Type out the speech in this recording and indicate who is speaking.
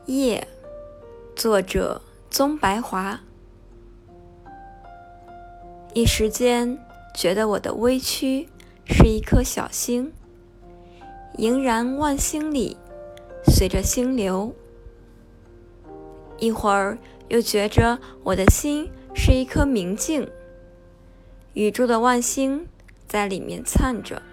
Speaker 1: 夜，作者宗白华。一时间觉得我的微躯是一颗小星，萦然万星里，随着星流。一会儿又觉着我的心是一颗明镜，宇宙的万星在里面灿着。